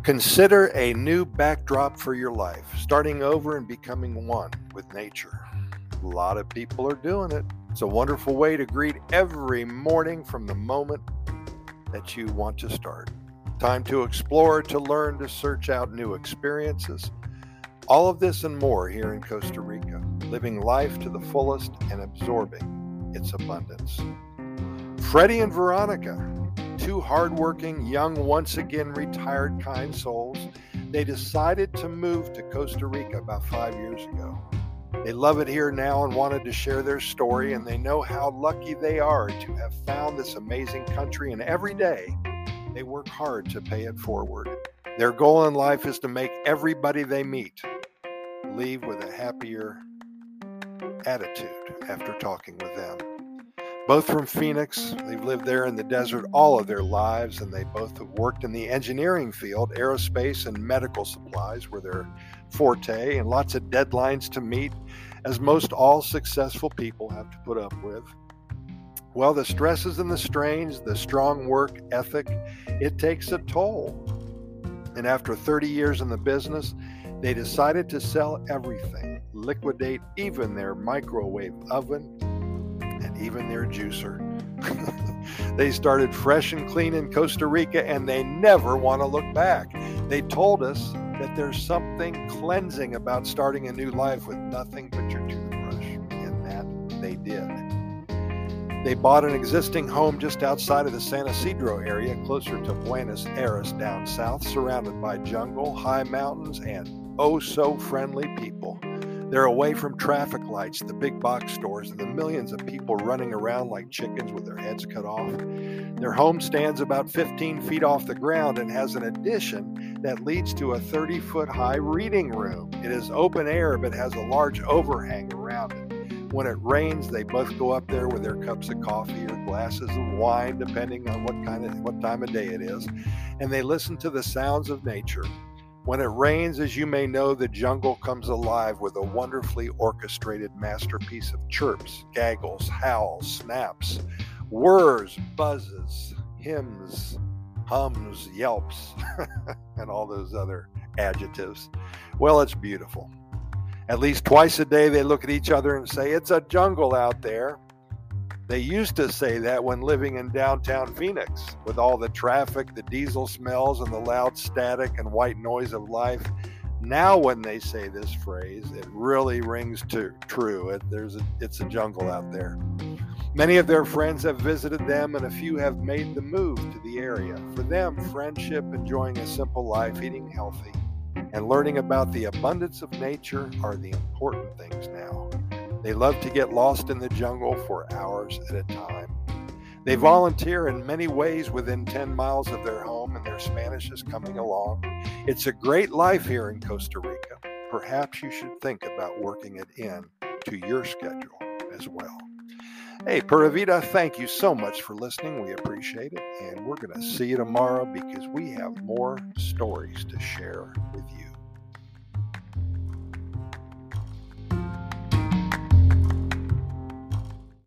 Consider a new backdrop for your life, starting over and becoming one with nature. A lot of people are doing it. It's a wonderful way to greet every morning from the moment that you want to start. Time to explore, to learn, to search out new experiences. All of this and more here in Costa Rica, living life to the fullest and absorbing its abundance. Freddie and Veronica, two hardworking, young, once again retired kind souls, they decided to move to Costa Rica about 5 years ago. They love it here now and wanted to share their story, and they know how lucky they are to have found this amazing country, and every day they work hard to pay it forward. Their goal in life is to make everybody they meet leave with a happier attitude after talking with them. Both from Phoenix, they've lived there in the desert all of their lives, and they both have worked in the engineering field. Aerospace and medical supplies were their forte, and lots of deadlines to meet, as most all successful people have to put up with. Well, the stresses and the strains, the strong work ethic, it takes a toll. And after 30 years in the business, they decided to sell everything, liquidate even their microwave oven, and even their juicer. They started fresh and clean in Costa Rica, and they never want to look back. They told us that there's something cleansing about starting a new life with nothing but your toothbrush, and that they did. They bought an existing home just outside of the San Isidro area, closer to Buenos Aires down south, surrounded by jungle, high mountains, and oh-so-friendly people. They're away from traffic lights, the big box stores, and the millions of people running around like chickens with their heads cut off. Their home stands about 15 feet off the ground and has an addition that leads to a 30-foot high reading room. It is open air but has a large overhang around it. When it rains, they both go up there with their cups of coffee or glasses of wine, depending on what time of day it is, and they listen to the sounds of nature. When it rains, as you may know, the jungle comes alive with a wonderfully orchestrated masterpiece of chirps, gaggles, howls, snaps, whirs, buzzes, hymns, hums, yelps, and all those other adjectives. Well, it's beautiful. At least twice a day, they look at each other and say, "It's a jungle out there." They used to say that when living in downtown Phoenix, with all the traffic, the diesel smells, and the loud static and white noise of life. Now when they say this phrase, it really rings true. It's a jungle out there. Many of their friends have visited them, and a few have made the move to the area. For them, friendship, enjoying a simple life, eating healthy, and learning about the abundance of nature are the important things now. They love to get lost in the jungle for hours at a time. They volunteer in many ways within 10 miles of their home, and their Spanish is coming along. It's a great life here in Costa Rica. Perhaps you should think about working it in to your schedule as well. Hey, Pura Vida, thank you so much for listening. We appreciate it, and we're going to see you tomorrow because we have more stories to share with you.